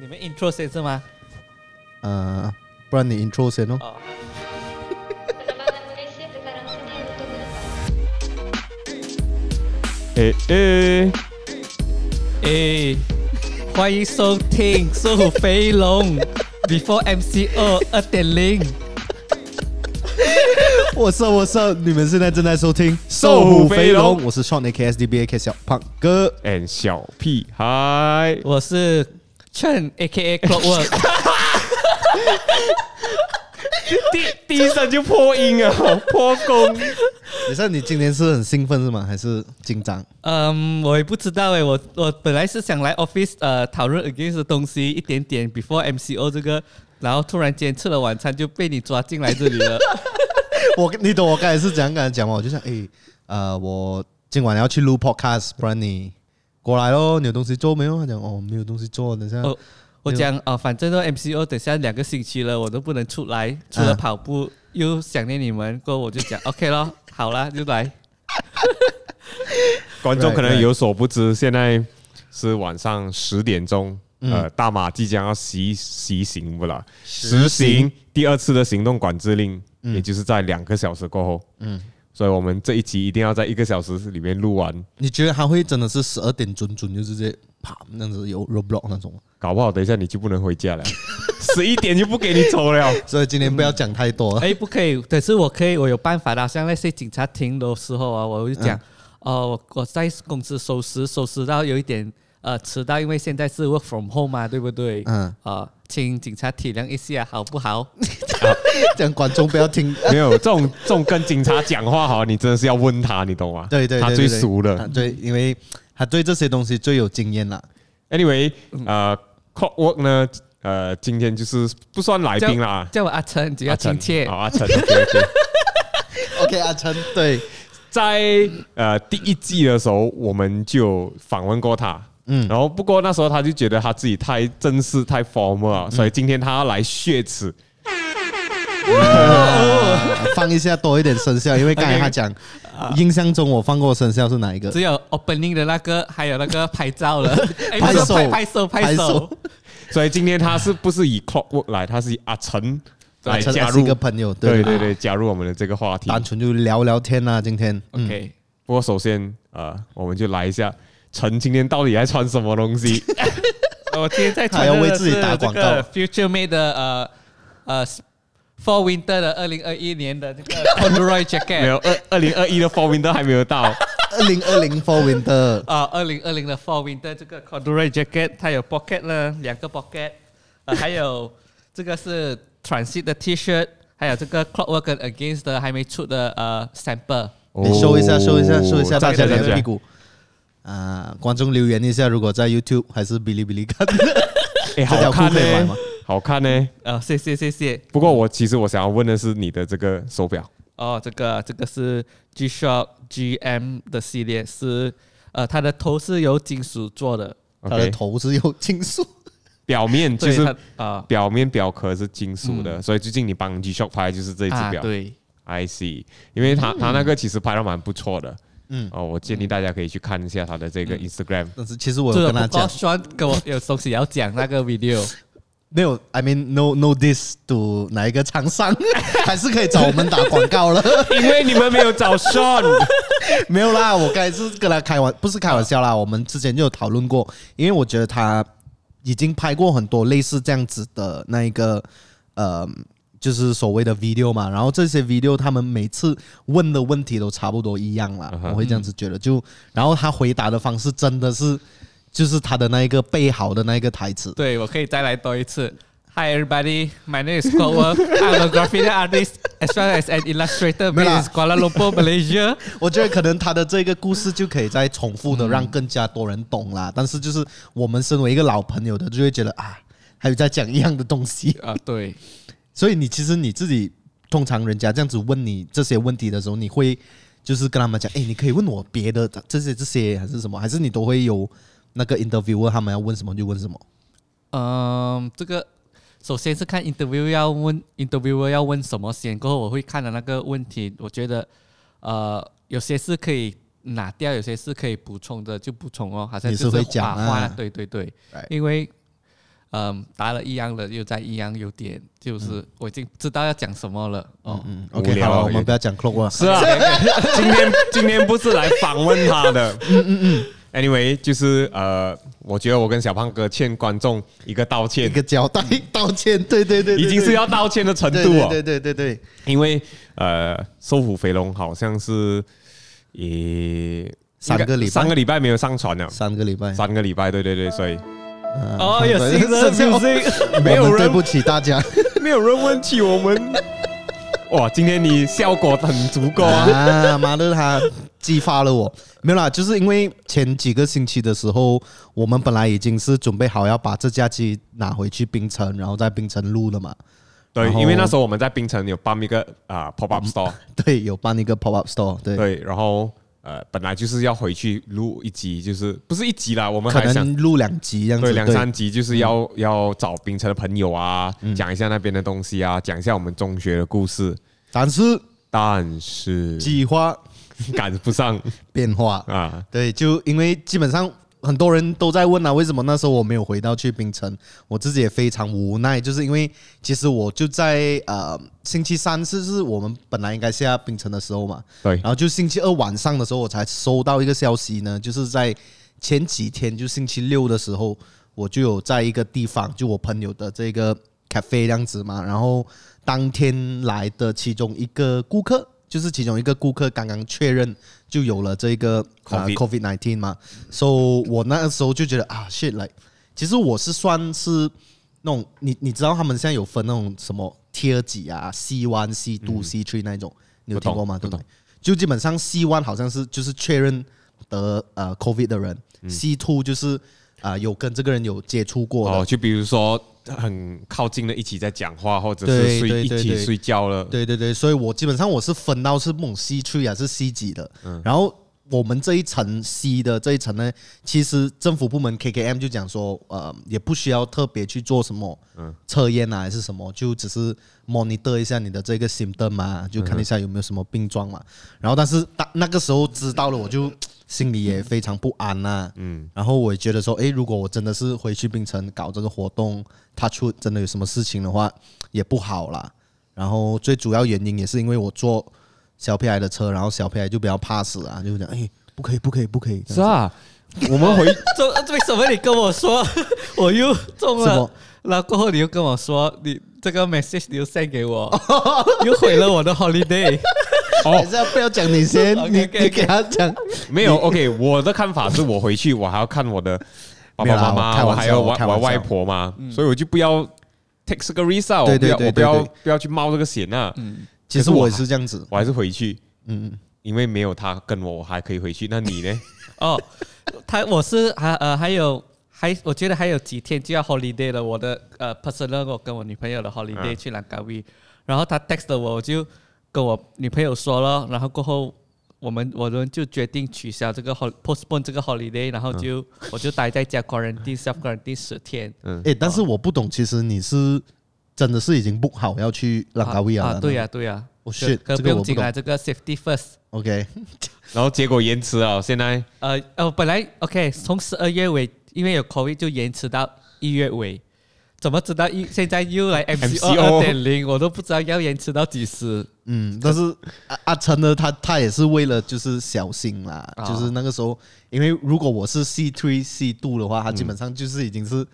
你們 intro 先是嗎？ 不然你 intro 先哦。 歡迎收聽《瘦虎飛龍》Before MCO 2.0。 我是你們現在正在收聽《瘦虎飛龍》，我是 Sean AKSDBAK 小胖哥 and 小屁孩， 我是 Chen AKA Clockwork。 第一聲就破音啊，破功。 你今天是很興奮是嗎？還是緊張？ 我也不知道誒，我本來是想來 office 討論 against 的東西一點點 before MCO 這個，然後突然間吃了晚餐就被你抓進來這裡了。 你懂我剛才是怎樣跟他講嗎？我就想我今晚要去錄 podcast， 不然你過來咯，你有東西做沒有？他講沒有東西做，等下。 我講反正都 MCO 等下2個星期了，我都不能出來，除了跑步，又想念你們，過後我就講 OK 咯，好啦，就來。 觀眾可能有所不知，現在是晚上10點鐘，大馬即將要實行第2次的行動管制令，也就是在2個小時過後，所以我們這一集一定要在1個小時裡面錄完。 你覺得他會真的是12點準就是直接啪那樣子有 roadblock 那種？ 搞不好等一下你就不能回家了，11點就不給你走了。 所以今天不要講太多。 不可以，但是我有辦法的。像那些警察停的時候啊，我就講，我在公司收拾到有一點遲到，因為現在是 work from home 嘛，對不對？請警察體諒一下，好不好？ 這樣觀眾不要聽。 沒有這種跟警察講話哈，你真的是要問他，你懂嗎？ 對， 他最熟了。 對，因為他對這些東西最有經驗了。 Anyway，Clockwork 呢？今天就是不算來賓啦， 叫我阿成，只要親切。 好，阿成 ，OK， 阿成。對， 在第1季的時候，我們就訪問過他。然後不過那時候他就覺得他自己太正式、太 formal 了，所以今天他要來血池。 放一下多一點聲效，因為剛才他講，印象中我放過的聲效是哪一個？ 只有 opening 的那個，還有那個拍照了，拍手。 所以今天他是不是以 Clockwork 來？他是以阿成來加入一個朋友， 對，加入我們的這個話題， 單純就聊聊天啊。今天 OK， 不過首先我們就來一下，陳今天到底在穿什麼東西？ 我今天在穿的是要為自己打廣告 Future Made 的Fall Winter 的2021年的這個 Corduroy Jacket。 沒有，2021的 Fall Winter 還沒有到。 2020 Fall Winter 2020的 Fall Winter 這個 Corduroy Jacket， 它有 pocket 呢，2個 pocket， 還有這個是 Transit 的 T-shirt， 還有這個 Clockwork 跟 Against 的還沒出的sample。 你show一下大家的屁股。觀眾留言一下，如果在 YouTube 還是嗶哩嗶哩看， 好看呢，好看呢。 謝謝。 不過其實我想要問的是你的這個手錶。 這個是 G-Shock GM 的系列，是它的頭是由金屬做的， 它的頭是由金屬， 表面就是表面表殼是金屬的，所以最近你幫 G-Shock 拍就是這一只錶。 對 ，I see， 因為它那個其實拍得蠻不錯的。我建議大家可以去看一下他的這個 Instagram。 但是其實我有跟他講， 跟我有東西要講那個 video。 沒有 ，I mean no this to 哪一個廠商，還是可以找我們打廣告了。 因為你們沒有找 Sean。 沒有啦，我剛才是跟他不是開玩笑啦，我們之前就有討論過，因為我覺得他已經拍過很多類似這樣子的那一個就是所謂的 video 嘛，然後這些 video 他們每次問的問題都差不多一樣啦，我會這樣子覺得，然後他回答的方式真的是。就是他的那一個背好的那一個台詞。 對，我可以再來多一次。Hi everybody, my name is Clockwork. I'm a graffiti artist as well as an illustrator based in Kuala Lumpur, Malaysia. 我覺得可能他的這個故事就可以再重複的讓更加多人懂啦。但是就是我們身為一個老朋友的，就會覺得還有在講一樣的東西啊。 對， 所以其實你自己通常人家這樣子問你這些問題的時候，你會就是跟他們講，你可以問我別的這些還是什麼，還是你都會有那個 interviewer 他們要問什麼就問什麼？ 這個首先是看 interviewer 要問什麼先，過後我會看的那個問題，我覺得有些是可以拿掉，有些是可以補充的就補充哦，好像就是會講啊，對，因為答了一樣的，又在一樣，有點就是我已經知道要講什麼了。 OK， 好了，我們不要講 clock 了。 是啊，今天不是來訪問他的。Anyway， 就是我覺得我跟小胖哥欠觀眾一個道歉， 一個交代，道歉，對， 已經是要道歉的程度哦。 對， 因為瘦虎肥龍好像是上個禮拜沒有上傳了，3個禮拜，對，所以有新的消息， 沒有人對不起大家， 沒有人問起我們。哇，今天你效果很足夠啊！ 媽的，他激發了我。沒有啦，就是因為前幾個星期的時候，我們本來已經是準備好要把這架機拿回去檳城，然後在檳城錄了嘛。 對，因為那時候我們在檳城有辦一個pop up store， 對，有辦一個 pop up store， 對，然後本來就是要回去錄一集，就是不是一集啦，我們還想可能錄2集這樣子， 對，2-3集，就是要找檳城的朋友啊，講一下那邊的東西啊，講一下我們中學的故事。但是計劃趕不上變化啊，對，就因為基本上很多人都在問啊，為什麼那時候我沒有回到去檳城？我自己也非常無奈，就是因為其實我就在星期3是我們本來應該下檳城的時候嘛， 對， 然後就星期2晚上的時候我才收到一個消息呢，就是在前幾天就星期6的時候，我就有在一個地方，就我朋友的這個 cafe 這樣子嘛，然後當天來的其中一個顧客。就是其中一個顧客剛剛確認就有了這個COVID-19 嘛，所以我那個時候就覺得啊 shit， like 其實我是算是那種你知道他們現在有分那種什麼 Tier 幾啊 C1、C2、C3 那種，你有聽過嗎？對不對？就基本上 C1 好像是就是確認得COVID 的人，C2 就是有跟這個人有接觸過的， 就比如說。很靠近的一起在講話，或者是一起睡覺了。 對，所以我基本上我是分到是夢 C3 還是 C 幾的。然後我們這一層 C 的這一層呢，其實政府部門 KKM 就講說，也不需要特別去做什麼測驗啊，還是什麼，就只是 monitor 一下你的這個 symptom 嘛，就看一下有沒有什麼病狀嘛。然後但是那個時候知道了，我就心裡也非常不安吶。然後我也覺得說，如果我真的是回去檳城搞這個活動，他出真的有什麼事情的話，也不好啦。然後最主要原因也是因為我坐小屁孩的車，然後小屁孩就比較怕死啊，就講不可以。 是啊，我們回為什麼你跟我說我又中了？然後過後你又跟我說你這個 message 你又 send 給我，又毀了我的 holiday。 還是不要講你先，你給他講。 沒有 OK， 我的看法是我回去我還要看我的爸爸媽媽，我還有我外婆嘛，所以我就不要 take 這個 risk 啊，我不要去冒這個險啊。 其實我也是這樣子， 我還是回去，因為沒有他跟我還可以回去。那你呢？ 我是我覺得還有幾天就要 holiday 了，我的personal 我跟我女朋友的 holiday 去蘭卡威，然後他 text 了我就跟我女朋友說了，然後過後我們就決定取消這個 postpone 這個 holiday， 然後我就待在家 quarantine self quarantine 10天。 但是我不懂，其實你是真的是已經 book 好要去蘭卡威了？ 對呀。可不用緊來這個 safety first。OK， 然後結果延遲了，現在本來 OK 從12月尾，因為有 COVID 就延遲到1月尾。怎麼知道現在又來 MCO 2.0， 我都不知道要延遲到幾時。 但是阿成呢，他也是為了就是小心啦，就是那個時候，因為如果我是 C3、C2 的話，他基本上就是已經是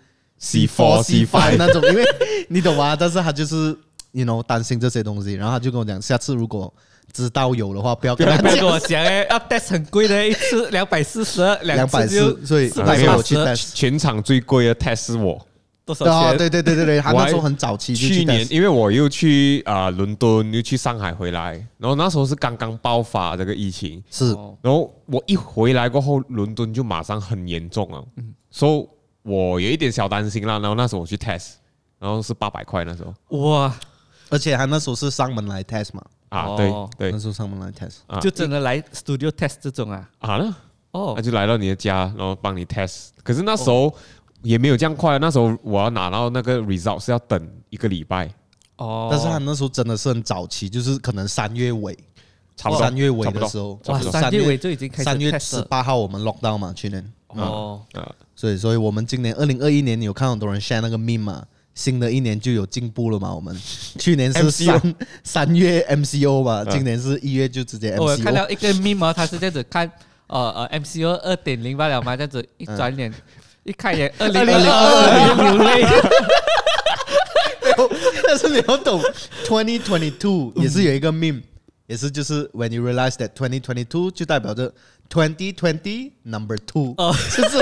C4、C5 那種，因為你懂嗎？但是他就是擔心這些東西，然後他就跟我講，下次如果知道有的話，不要跟我講要 test 很貴的，一次240，兩次就所以 480。 我去 test， 全場最貴的 test 是我。 多少錢？ 對，他那時候很早期就去 test。 去年因為我又去倫敦，又去上海回來，然後那時候是剛剛爆發這個疫情， 是。 然後我一回來過後，倫敦就馬上很嚴重了，所以我有一點小擔心啦。然後那時候我去 test， 然後是800塊那時候。 哇！ 而且他那時候是上門來 test 嘛？ 對， 那時候上門來 test， 就真的來 studio test 這種啊？ 他就來到你的家，然後幫你 test。可是那時候也沒有這樣快，那時候我要拿到那個 result 是要等1個禮拜。 但是他那時候真的是很早期，就是可能3月尾，差不多3月尾的時候， 哇，3月尾就已經開始 3月18號我們 lockdown 嘛，去年。 所以我們今年2021年有看很多人 share 那個 meme 嘛，新的一年就有進步了嘛。我們去年是3月 MCO 吧，今年是1月就直接 MCO。 我看到一個 meme，他是這樣子看MCO 2.0罷了嘛，這樣子一轉臉一看也2022流淚。 但是你要懂2022也是有一個 meme， 也是就是 when you realize that 2022就代表着2020 number 2，就是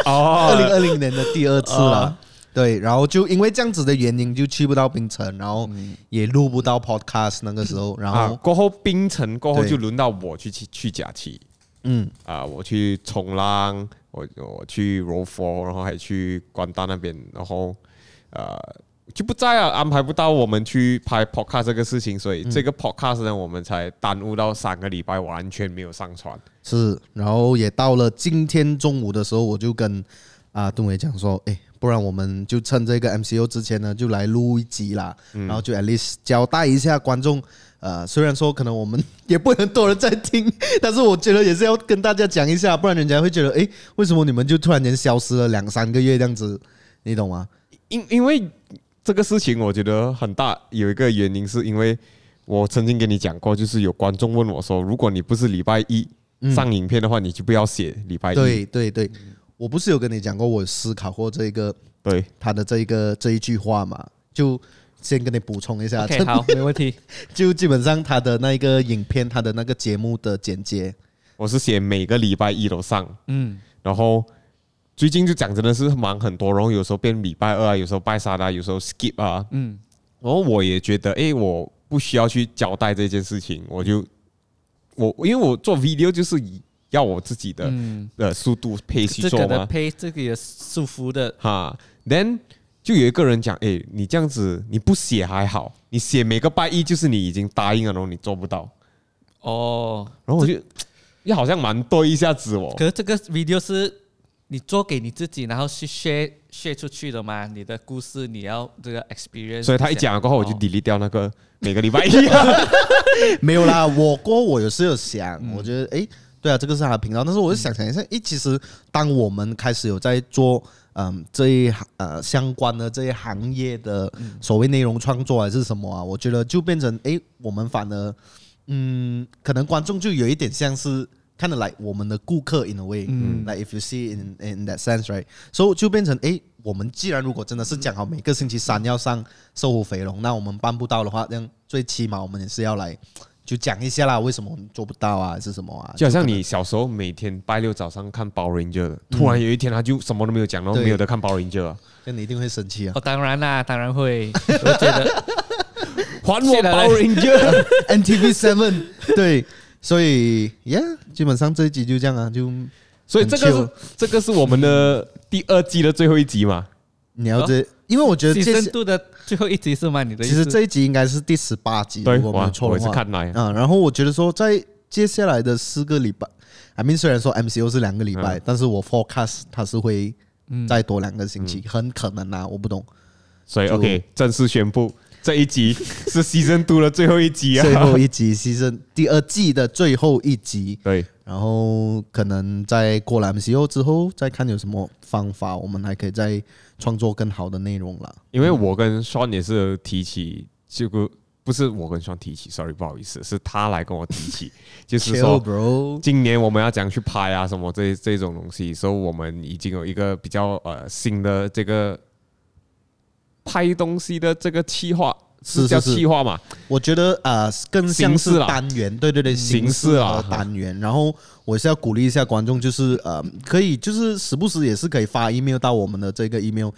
2020年的第2次了。對，然後就因為這樣子的原因就去不到檳城，然後也錄不到 podcast 那個時候，然後過後檳城過後就輪到我去假期，我去衝浪，我去柔佛，然後還去關島那邊，然後就不在啊，安排不到我們去拍 podcast 這個事情，所以這個 podcast 呢，我們才耽誤到3個禮拜，完全沒有上傳。 是，然後也到了今天中午的時候，我就跟敦偉講說，不然我們就趁這個 MCO 之前呢，就來錄一集啦，然後就 at least 交代一下觀眾。雖然說可能我們也不會很多人在聽，但是我覺得也是要跟大家講一下，不然人家會覺得，為什麼你們就突然間消失了2-3個月這樣子，你懂嗎？因為這個事情我覺得很大，有一個原因是因為我曾經跟你講過，就是有觀眾問我說，如果你不是禮拜一上影片的話，你就不要寫禮拜一。對，我不是有跟你講過，我有思考過這個對他的這一句話嘛，就先跟你補充一下。 OK， 好，沒問題。 就基本上他的那個影片，他的那個節目的簡介， 我是寫每個禮拜一都上，然後。最近就講真的是忙很多，然後有時候變禮拜2啊，有時候拜3啊，有時候 skip 啊，然後我也覺得，我不需要去交代這件事情，因為我做 video 就是要我自己的速度配去做嘛， 配這個也舒服的哈。Then 就有一個人講，你這樣子你不寫還好，你寫每個拜一就是你已經答應了，然後你做不到，然後我就好像蠻對一下子哦。 可是這個 video 是。你做給你自己，然後去 share 出去的嘛？你的故事，你要這個 experience。所以他一講了過後，我就 delete 掉那個每個禮拜一。 沒有啦，我有時有想，我覺得對啊，這個是他的頻道，但是我就想一下，其實當我們開始有在做這一相關的這一行業的所謂內容創作還是什麼啊，我覺得就變成我們反而可能觀眾就有一點像是。kind of like 我們的顧客 in a way，like if you see in that sense right， so 就變成我們既然如果真的是講好每個星期3要上瘦虎肥龍，那我們辦不到的話，這樣最起碼我們也是要來就講一下啦，為什麼我們做不到啊，還是什麼啊？ 就好像你小時候每天拜6早上看 Power Ranger，突然有一天他就什麼都沒有講，然後沒有得看 Power Ranger 啊， 那你一定會生氣啊！ 當然啦，當然會，我覺得還我 Power Ranger NTV7， 對。所以基本上這一集就這樣啊， 所以這個是我們的第2季的最後一集嘛？ 你要因為我覺得深度的最後一集是嗎？你的意思？ 其實這一集應該是第18集， 對， 如果沒有錯的話。 我也是看來然後我覺得說，在接下來的4個禮拜，I mean 雖然說 MCO 是2個禮拜，但是我 forecast 它是會再多2個星期，很可能啊，我不懂。 所以 OK， 正式宣布。這一集是 Season 2的最後一集啊， 最後一集 Season 第2季的最後一集。 對， 然後可能在過了 MCO 之後，再看有什麼方法，我們還可以再創作更好的內容啦。 因為我跟 Sean 也是提起，這個不是我跟 Sean 提起 ，sorry 不好意思，是他來跟我提起，就是說今年我們要怎樣去拍啊什麼這種東西，所以我們已經有一個比較新的這個。拍東西的這個企劃是叫企劃嘛？ 我覺得更像是單元，對，形式和單元。然後我是要鼓勵一下觀眾，就是可以就是時不時也是可以發 email 到我們的這個 email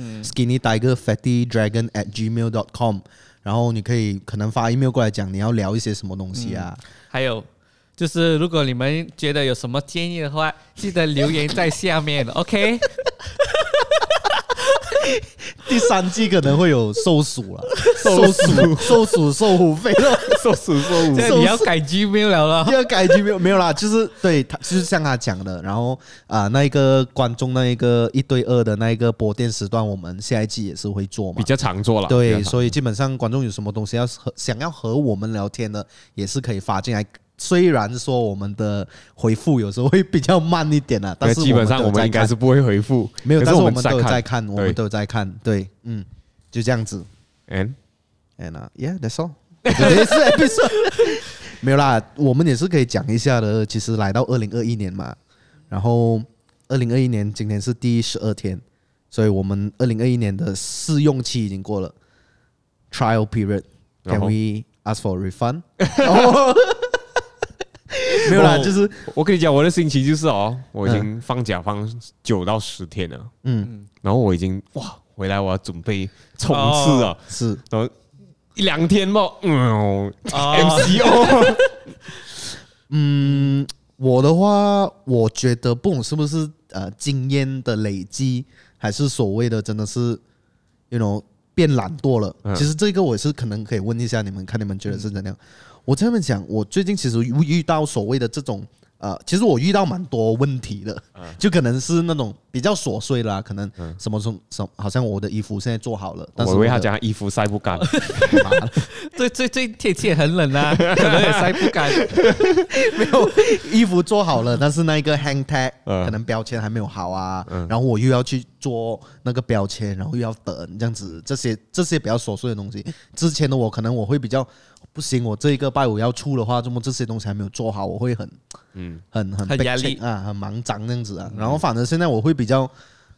skinnytigerfattydragon@gmail.com， 然後你可能發 email 過來講你要聊一些什麼東西啊。 還有就是如果你們覺得有什麼建議的話，記得留言在下面，OK。 第3季可能會有瘦鼠了，瘦鼠瘦虎肥了， 瘦鼠瘦虎。 你要改 Gmail 了， 要改 Gmail 沒有啦，就是對他就是像他講的，然後那一個觀眾那一個1對2的那一個播電時段，我們下一季也是會做嘛， 比較常做了。 對，所以基本上觀眾有什麼東西想要和我們聊天的，也是可以發進來雖然說我們的回復有時候會比較慢一點啊，但是基本上我們應該是不會回復， 沒有，但是我們都有在看，我們都有在看，对，就這樣子。 And yeah, that's all。也是 episode 沒有啦，我們也是可以講一下的。其實來到2021年嘛，然後2021年今天是第12天，所以我們2021年的試用期已經過了 ，trial period。Can we ask for a refund？ 沒有啦，就是我跟你講，我的心情就是我已經放假放9到10天了，然後我已經回來我要準備衝刺了， 是， 然後1-2天嘛，MCO， 我的話，我覺得不懂是不是經驗的累積，還是所謂的真的是變懶惰了。其實這個我也是可能可以問一下你們，看你們覺得是怎樣。我這麼講，我最近其實遇到所謂的這種其實我遇到蠻多問題的，就可能是那種比較瑣碎啦，可能什麼，好像我的衣服現在做好了，但是我以為他講衣服曬不乾， 最近天氣也很冷啊，可能也曬不乾。 沒有衣服做好了，但是那個 hang tag 可能標籤還沒有好啊，然後我又要去做那個標籤，然後又要等這樣子，這些比較瑣碎的東西。之前的我可能我會比較不行，我這一個拜五要出的話，這麼這些東西還沒有做好，我會很壓力啊，很忙張這樣子啊。然後反正現在我會比較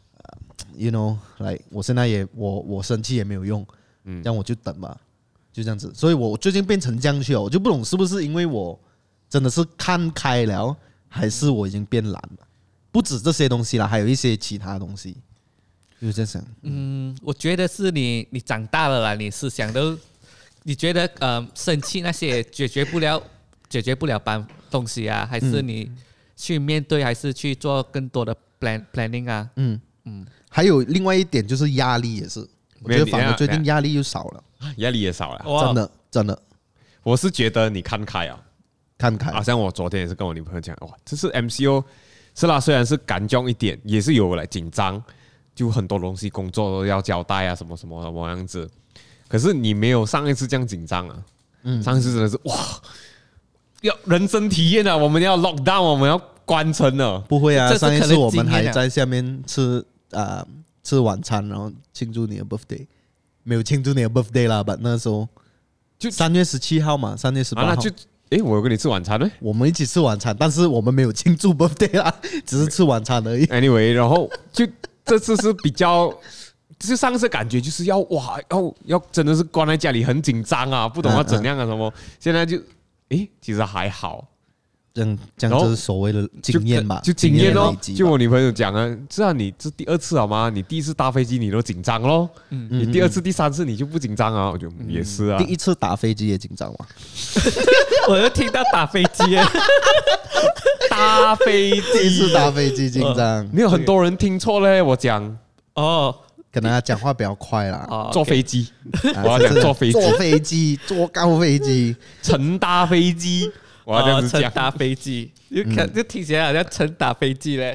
我現在我生氣也沒有用，這樣我就等吧，就這樣子。所以我最近變成這樣去了，我就不懂是不是因為我真的是看開了，還是我已經變懶了？不止這些東西啦，還有一些其他東西，就這樣想。 我覺得是你長大了啦，你思想都。你覺得生氣那些解決不了東西啊，還是你去面對，還是去做更多的 planning 啊？ 還有另外一點就是壓力也是，我觉得反而最近壓力又少了， 壓力也少了， 真的。 我是覺得你看開啊， 看開。 好像我昨天也是跟我女朋友講，哇，這是 MCO 是啦，雖然是感覺一點，也是有來緊張，就很多東西工作都要交代啊，什麼樣子。可是你沒有上一次這樣緊張啊，上一次真的是哇，要人生體驗啊，我們要 lock down， 我們要關城了。 不會啊，上一次我們還在下面吃晚餐，然後慶祝你的 birthday， 沒有慶祝你的 birthday 啦，但那時候就3月17號嘛，3月18號。 那就我有跟你吃晚餐呢， 我們一起吃晚餐，但是我們沒有慶祝 birthday 啦，只是吃晚餐而已。 Anyway， 然後就這次是比較。就上次感覺就是要真的是關在家裡很緊張啊，不懂要怎樣啊什麼。現在就其實還好，這樣就是所謂的經驗吧， 就經驗咯。就我女朋友講啊，知道你這第2次好嗎？你第1次搭飛機你都緊張咯，你第2次、第3次你就不緊張啊？我就也是啊。 第1次打飛機也緊張嗎？ 我又聽到打飛機， 搭飛機， 第1次打飛機緊張。 沒有很多人聽錯嘞，我講可能他講話比較快啦。 坐飛機，我要講坐飛機， 坐高飛機， 乘搭飛機，我要這樣子講。 乘搭飛機，就聽起來好像乘打飛機嘞。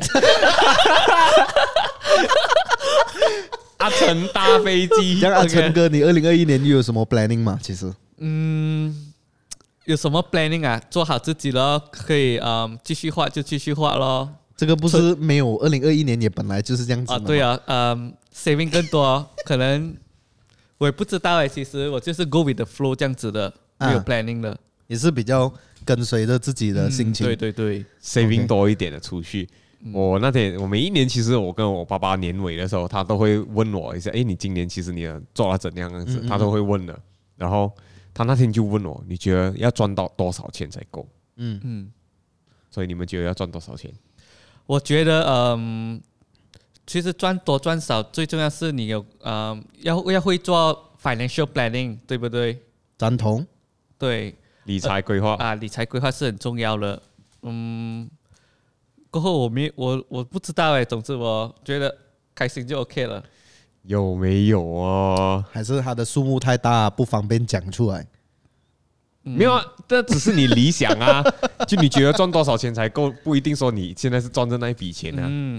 乘搭飛機， 像陳哥，你2021年又有什麼 planning 嗎？其實， 有什麼 planning 啊？做好自己咯，可以繼續畫就繼續畫咯。 這個不是沒有2021年也本來就是這樣子嗎？ 對啊，saving 更多，可能我也不知道其實我就是 go with the flow 這樣子的，沒有 planning 的， 也是比較跟隨着自己的心情。 對 ，saving 多一點的儲蓄。我每一年其實我跟我爸爸年尾的時候，他都會問我一下，你今年其實你做了怎樣樣子，他都會問的。然後他那天就問我，你覺得要賺到多少錢才夠？所以你們覺得要賺多少錢？ 我覺得其實賺多賺少最重要是你有要會做 financial planning， 對不對？ 贊同。 對， 理財規劃理財規劃是很重要的。過後我不知道總之我覺得開心就 OK 了。 有沒有啊？ 還是它的數目太大，不方便講出來？ 沒有啊，這只是你理想啊。就你覺得賺多少錢才夠，不一定說你現在是賺着那一筆錢啊。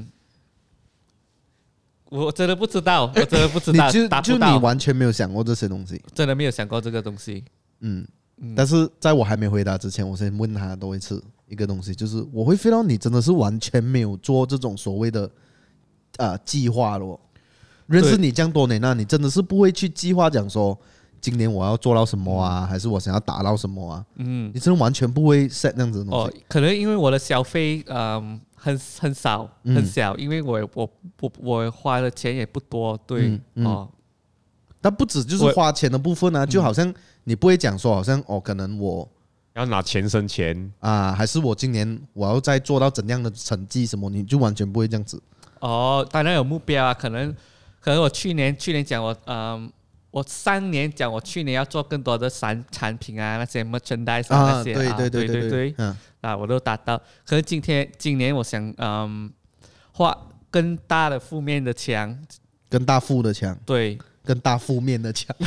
我真的不知道，達不到。 就你完全沒有想過這些東西， 真的沒有想過這個東西。 但是在我還沒回答之前，我先問他多一次一個東西，就是我會 feel 到你真的是完全沒有做這種所謂的計劃咯。認識你這樣多年了，你真的是不會去計劃講說今年我要做到什麼啊，還是我想要達到什麼啊？你真的完全不會 set 這樣子的東西。 可能因為我的消費很少很小，因為我花的錢也不多，對但不止就是花錢的部分啊，就好像你不會講說好像可能我要拿錢生錢啊，還是我今年我要再做到怎樣的成績什麼，你就完全不會這樣子。 當然有目標啊，可能我去年講我3年講我去年要做更多的產品啊，那些 merchandise 那些对，我都達到。可是今年我想畫更大的負面的牆， 更大負的牆， 對， 更大負面的牆。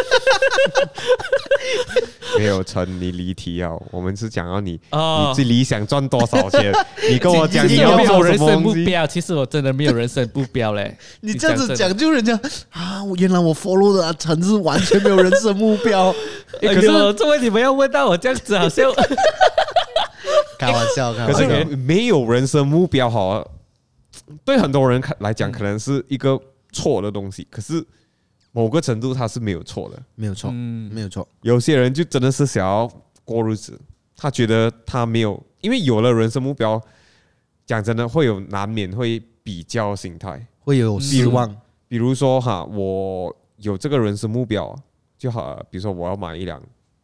沒有成，你離題啊！我們是講到你最理想賺多少錢，你跟我講你要做什麼東西。 有人生目標，其實我真的沒有人生目標嘞。 你這樣子講，就人家原來我 follow 的陳是完全沒有人生目標。 可是作為你們要問到我這樣子，好像開玩笑。 可是沒有人生目標，好，對很多人來講，可能是一個錯的東西。可是某個程度，它是沒有錯的， 沒有錯，沒有錯。 有些人就真的是想要過日子，他覺得他沒有，因為有了人生目標，講真的會有難免會比較心態， 會有失望。 比如說我有這個人生目標就好，比如說我要買一輛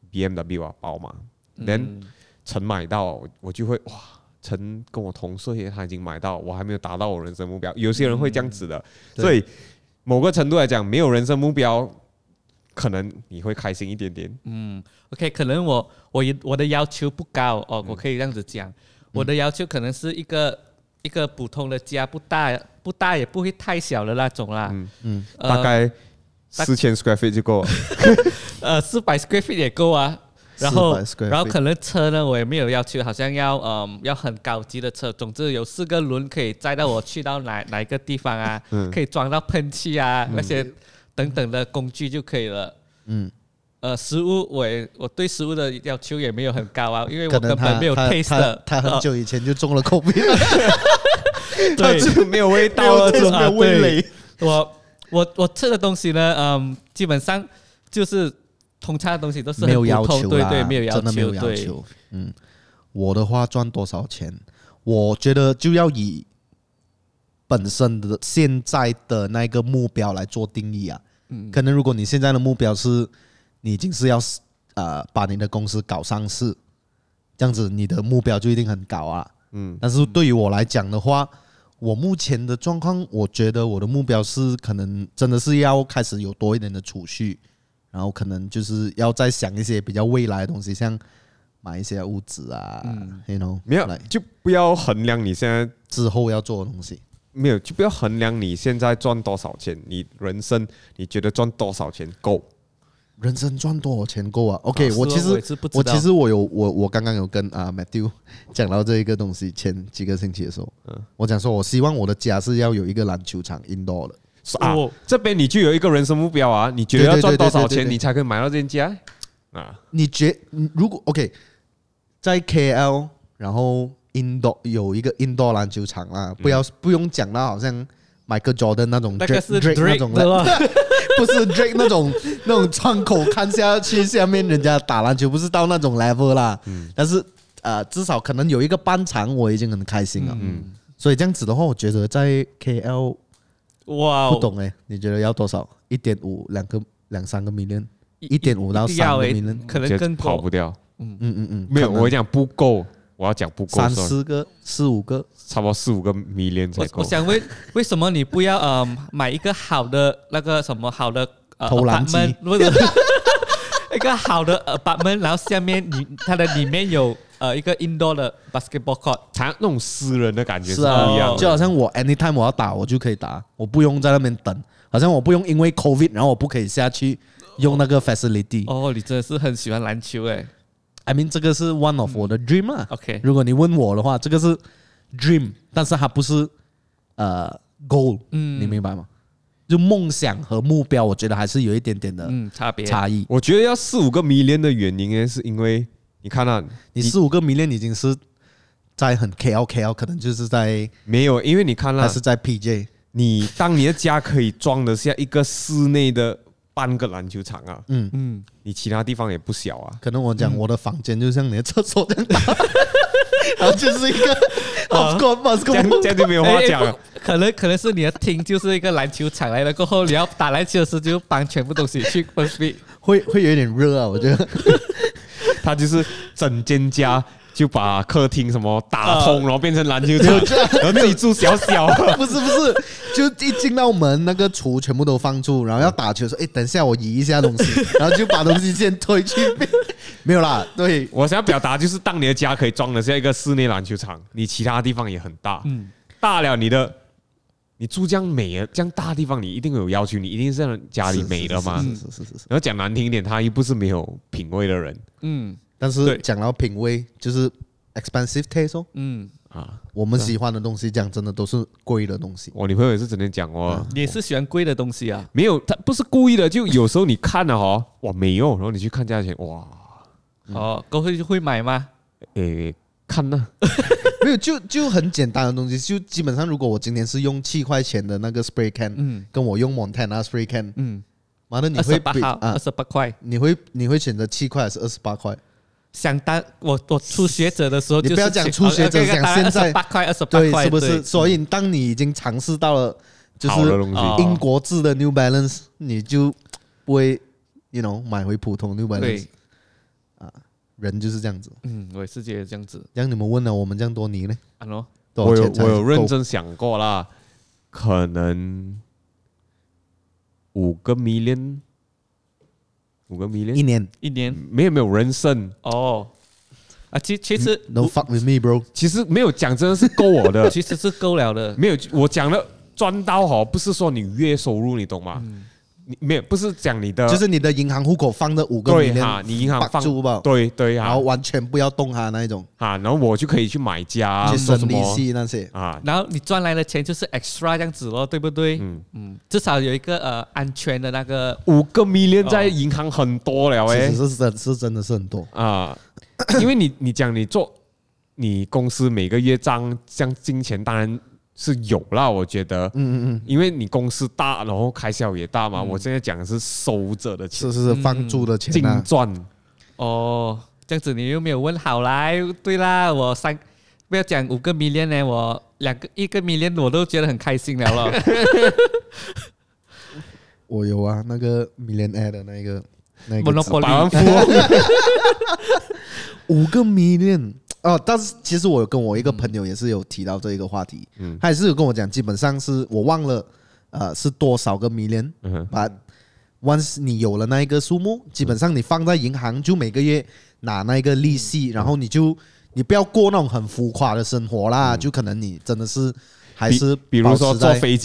BMW 啊，寶馬，then 陳買到，我就會哇，陳跟我同歲，他已經買到，我還沒有達到我人生目標。有些人會這樣子的，所以某個程度來講，沒有人生目標，可能你會開心一點點。 OK， 可能我的要求不高我可以這樣子講，我的要求可能是一個普通的家，不大也不會太小的那種啦。 大概4000 square feet 就夠了 ，400 square feet 也夠啊。然後可能車呢，我也沒有要求，好像要很高級的車。總之有4個輪可以載到我去到哪一個地方啊，可以裝到噴氣啊那些等等的工具就可以了。食物我對食物的要求也沒有很高啊，因為我根本沒有 taste 的。 他很久以前就中了 COVID， 他就沒有味道了， 没有味蕾。 我吃的東西呢，基本上就是通常的東西都是很沒有要求， 對，沒有要求， 真的沒有要求。我的話賺多少錢，我覺得就要以本身的現在的那個目標來做定義啊。可能如果你現在的目標是你已經是要把你的公司搞上市，這樣子你的目標就一定很高啊。但是對於我來講的話，我目前的狀況，我覺得我的目標是可能真的是要開始有多一點的儲蓄，然後可能就是要再想一些比較未來的東西，像買一些物資啊沒有，就不要衡量你現在之後要做的東西。 沒有，就不要衡量你現在賺多少錢，你人生你覺得賺多少錢夠？ 人生賺多少錢夠啊 ？OK， 我其實我剛剛有跟Matthew 講到這一個東西，前幾個星期的時候，我講說我希望我的家是要有一個籃球場 indoor 的。 這邊你就有一個人生目標啊，你覺得要賺多少錢你才可以買到這間家啊？ 如果 OK， 在 KL 然後 indoor 有一個 indoor 籃球場啊，不用講到好像 Michael Jordan 那種 Drake 那種的。不是 Drake 那種窗口看下去，下面人家打籃球，不是到那種 level 啦。但是至少可能有一個半場，我已經很開心了。所以這樣子的話，我覺得在 KL， 不懂你覺得要多少？1.5、2-3個 million，1.5到3個 million， 可能更跑不掉。沒有，我講不夠。我要講不夠 ，3-4個、4-5個， 差不多4-5個 million 才夠。 我想問，為什麼你不要買一個好的那個什麼好的投籃機， 一個好的 apartment， 然後下面它的裡面有一個 indoor 的 basketball court， 它那種私人的感覺是不一樣的。 就好像我 anytime 我要打，我就可以打，我不用在那邊等，好像我不用因為 COVID， 然後我不可以下去用那個 facility。 你真的是很喜歡籃球 I mean 這個是 one of 我的 dream 啊。 OK， 如果你問我的話，這個是 dream， 但是它不是goal。你明白嗎？ 就夢想和目標，我覺得還是有一點點的差異。 我覺得要4-5個 million 的原因呢，是因為你看啊， 你4-5個 million 已經是在很 KL， 可能就是在沒有，因為你看了還是在 PJ。 當你的家可以裝得下一個室內的半個籃球場啊，你其他地方也不小啊。 可能我講我的房間就像你的廁所這樣大，然後就是一個 of course 這樣就沒有話講了。 可能是你的廳就是一個籃球場來了，過後你要打籃球的時候就搬全部東西去 first 會有點熱啊，我覺得。 他就是整間家就把客廳什麼打通，然後變成籃球場，然後自己住小小。 不是，就一進到門那個廚全部都放住，然後要打球說，等一下我移一下東西，然後就把東西先推去。沒有啦，對， 我想要表達就是，當你的家可以裝得下一個室內籃球場，你其他地方也很大，大了你住這樣美這樣大的地方，你一定有要求，你一定是讓家裡美的嘛。 是。 然後講難聽一點，他又不是沒有品味的人。 但是講到品味，就是 expensive taste 我們喜歡的東西，講真的都是貴的東西。 我女朋友也是整天講哦， 你也是喜歡貴的東西啊？ 沒有，他不是故意的，就有時候你看了哇沒有，然後你去看價錢，哇， 过後就會買嗎？ 看呢， 沒有，就很簡單的東西，就基本上如果我今天是用7塊錢的那個 spray can，跟我用 Montana spray can，媽的你會比 28塊， 你會選擇7塊還是28塊？ 相當我初學者的時候， 你不要講初學者，講現在 28塊28塊， 對，是不是？所以當你已經嘗試到了就是英國製的 New Balance，你就不會買回普通 New Balance。人就是這樣子。 我也是覺得這樣子。 這樣你們問了我們這樣多年呢？ 我有認真想過啦，可能5個 million。 一年沒有人生其實 No fuck with me bro， 其實沒有講真的是夠我的， 其實是夠了的。 沒有，我講了賺到不是說你月收入，你懂嗎？你沒有，不是講你的， 就是你的銀行戶口放的5個 million， 你銀行放住吧， 對然後完全不要動它那一種然後我就可以去買家， 去生利息那些然後你賺來的錢就是 extra 這樣子咯，對不對？至少有一個安全的那個 5個 million 在銀行很多了其實是真的是很多因為你講你公司每個月賬這樣金錢當然是有啦，我覺得，因為你公司大，然後開銷也大嘛。我現在講的是收着的錢， 是放住的錢， 淨賺。 這樣子你又沒有問好來，對啦，不要講5個 million 呢，我1個 million 我都覺得很開心了。 我有啊，那個 millionaire 的那個 Monopoly 百萬富翁，5個 million。但是其實我有跟我一個朋友也是有提到這一個話題，他也是有跟我講，基本上是我忘了，是多少個 million，把 once 你有了那一個數目，基本上你放在銀行就每個月拿那個利息，然後你不要過那種很浮誇的生活啦，就可能你真的是還是比如說坐飛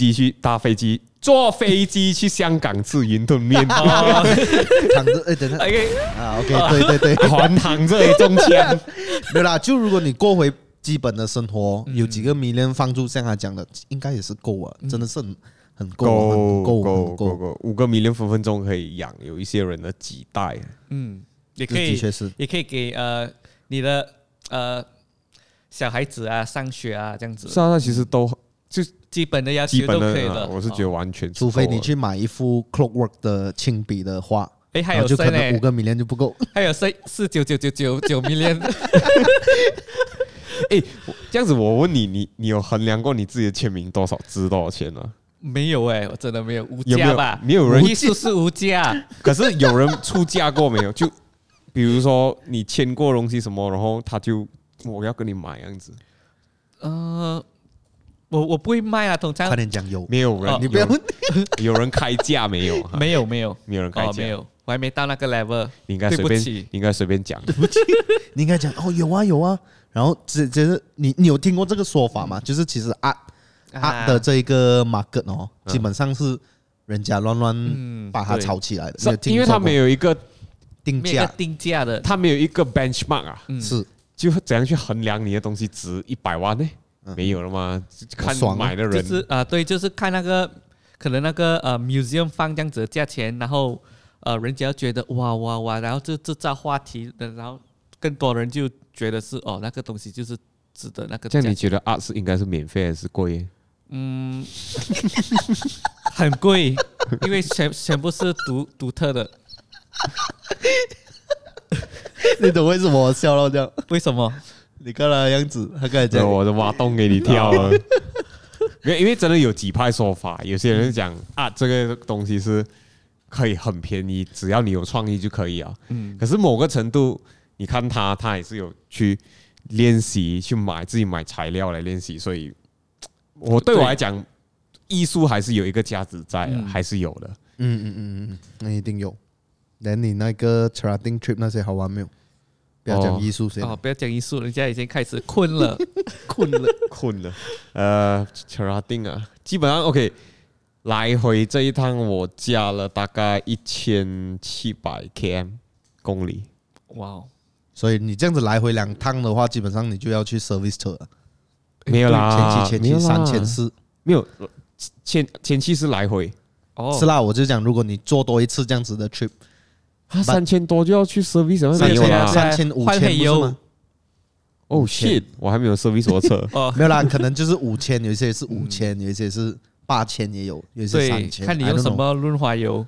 機去香港吃雲吞麵， 躺着等下 OK 對， 還躺着也中槍， 沒有啦。就如果你過回基本的生活，有幾個 million 放住，像他講的，應該也是夠啊，真的是很夠 ，5個 million分分鐘可以養有一些人的幾代。 也可以， 的確是， 也可以給你的小孩子啊上學啊這樣子。 是啊，其實都就基本的要求都可以了。 我是覺得完全， 除非你去買一幅 Clockwork 的親筆的畫， 還有就可能5個 million 就不夠， 還有49999 million。 這樣子我問你有衡量過你自己的簽名值多少錢嗎？ 沒有我真的沒有，無價吧？ 沒有人藝術是無價， 可是有人出價過沒有？就比如說你簽過東西什麼，然後他就我要跟你買這樣子。 我不會賣啊，通常快點講有沒有人？ 你不要問， 有人開價沒有？ 沒有沒有人開價， 沒有，我還沒到那個 level。 你應該隨便講， 對不起，你應該講有啊。然後就是你有聽過這個說法嗎？就是其實art的這一個 market 基本上是人家亂把它炒起來的， 因為他沒有一個定價的， 他沒有一個 benchmark 是就怎樣去衡量你的東西值100萬呢？沒有了嗎？看買的人就是對，就是看那個可能那個museum 放這樣子的價錢，然後人家覺得哇，然後就製造話題，然後更多人就覺得是那個東西就是值得那個價錢。 這樣你覺得 art 是應該是免費還是貴？ 很貴，因為全部是獨特的。 你懂為什麼我笑到這樣？ 為什麼？ 你看他的樣子，他剛才講我的挖洞給你跳了。因為真的有幾派說法，有些人講這個東西是可以很便宜，只要你有創意就可以啊。可是某個程度，你看他也是有去練習，去自己買材料來練習，所以對我來講，藝術還是有一個價值在的，還是有的。 那一定有。那你那個 Cherating trip 那些好玩沒有？不要講藝術先。 不要講藝術，人家已經開始困了。 Cherating 啊，基本上 OK。來回這一趟我加了大概1700 km 公里。 哇！ 所以你這樣子來回2趟的話，基本上你就要去 service 車了。 沒有啦， 前期3000-4000， 沒有，前期是來回。 是啦，我就講，如果你做多一次這樣子的 trip， 3000多就要去 service， 沒有啦 ，3000-5000不是嗎？ 哦 shit， 我還沒有 service 我車。 沒有啦，可能就是5000，有一些是5000，有一些是8000，也有一些3000。 看你用什麼潤滑油。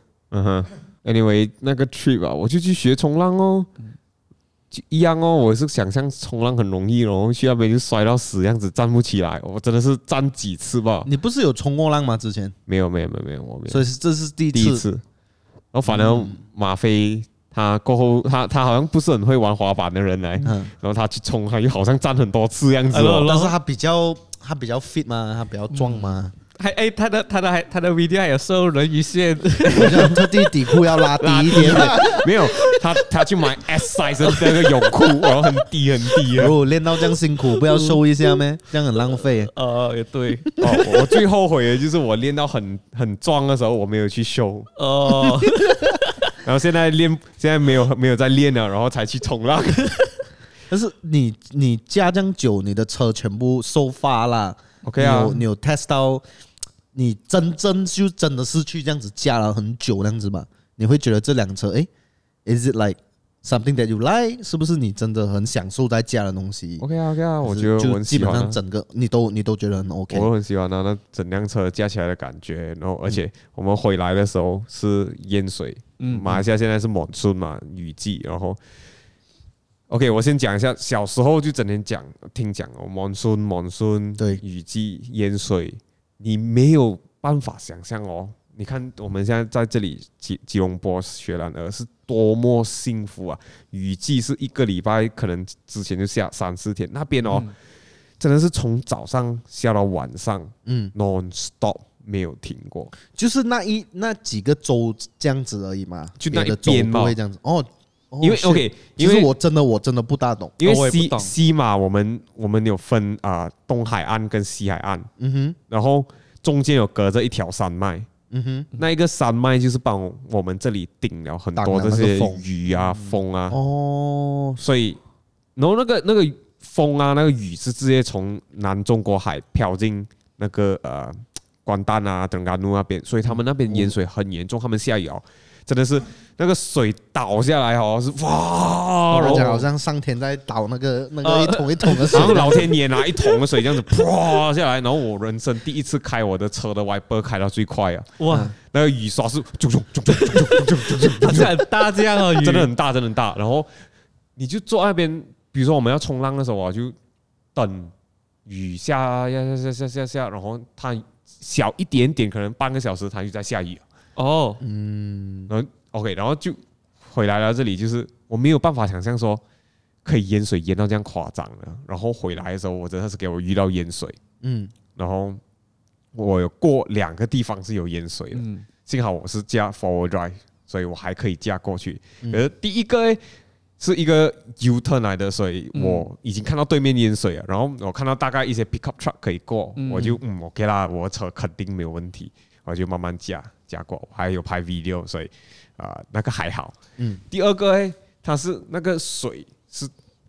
Anyway， 那個 trip 啊，我就去學衝浪哦。一樣哦，我是想象衝浪很容易，然後去那邊就摔到死這樣子，站不起來。我真的是站幾次吧。 你不是有衝過浪嗎？之前沒有，我沒有。 所以這是第一次。 然後反正馬飛他過後，他好像不是很會玩滑板的人來，然後他去衝，他又好像站很多次這樣子。 但是他比較 fit 嘛，他比較壯嘛。 他的 video 還有瘦人魚線， 我就特地底褲要拉低一點。 沒有，他去買 S size 的那個泳褲，然後很低。 練到這樣辛苦，不要瘦一下咩？這樣很浪費。 也對。 我最後悔的就是我練到很壯的時候，我沒有去修。然後現在沒有在練了，然後才去衝浪。 但是你加這樣久，你的車全部收發啦。OK 啊，你有 test 到，你真的是去這樣子駕了很久那樣子嘛？你會覺得這輛車，is it like something that you like？ 是不是你真的很享受在駕的東西 ？OK 啊，我覺得我很喜歡。 基本上整個你都覺得很 OK。 我很喜歡那整輛車駕起來的感覺，然後而且我們回來的時候是淹水，馬來西亞現在是 monsoon 嘛，雨季，然後。OK， 我先講一下，小時候就整天聽講哦 ，monsoon， 對，雨季淹水，你沒有辦法想象哦。你看我們現在在這裡吉隆坡雪蘭莪是多麼幸福啊！雨季是1個禮拜，可能之前就下3-4天，那邊哦，真的是從早上下到晚上，non stop 沒有停過， 就是那幾個州這樣子而已嘛， 就那一邊嘛， 不會這樣子哦。 因為 OK， 因為我真的不大懂， 因為西馬我們有分東海岸跟西海岸，然後中間有隔着一條山脈，那一個山脈就是幫我們這裡頂了很多這些雨啊風啊，所以然後那個風啊那個雨是直接從南中國海飄進那個關丹啊登嘉樓那邊，所以他們那邊淹水很嚴重，他們下雨哦。真的是那個水倒下來哦，是哇！然後好像上天在倒那個一桶一桶的水， 然後老天爺拿一桶的水這樣子啪下來，然後我人生第一次開我的車的 wiper 開到最快啊！哇，那個雨刷是它是很大這樣哦，雨真的很大。然後你就坐那邊，比如說我們要衝浪的時候啊，就等雨下，然後它小一點點，可能半個小時它就在下雨。然後 OK， 然後就回來了。這裡就是我沒有辦法想象說可以淹水淹到這樣誇張的。然後回來的時候，我真的是給我遇到淹水。然後我有過2個地方是有淹水的。幸好我是駕 forward drive， 所以我還可以駕過去。而第一個是一個 U turn 來的，所以我已經看到對面淹水了。然後我看到大概一些 pickup truck 可以過，我就OK 啦，我的車肯定沒有問題，我就慢慢駕過，我還有拍 video， 所以那個還好。第二個它是那個水是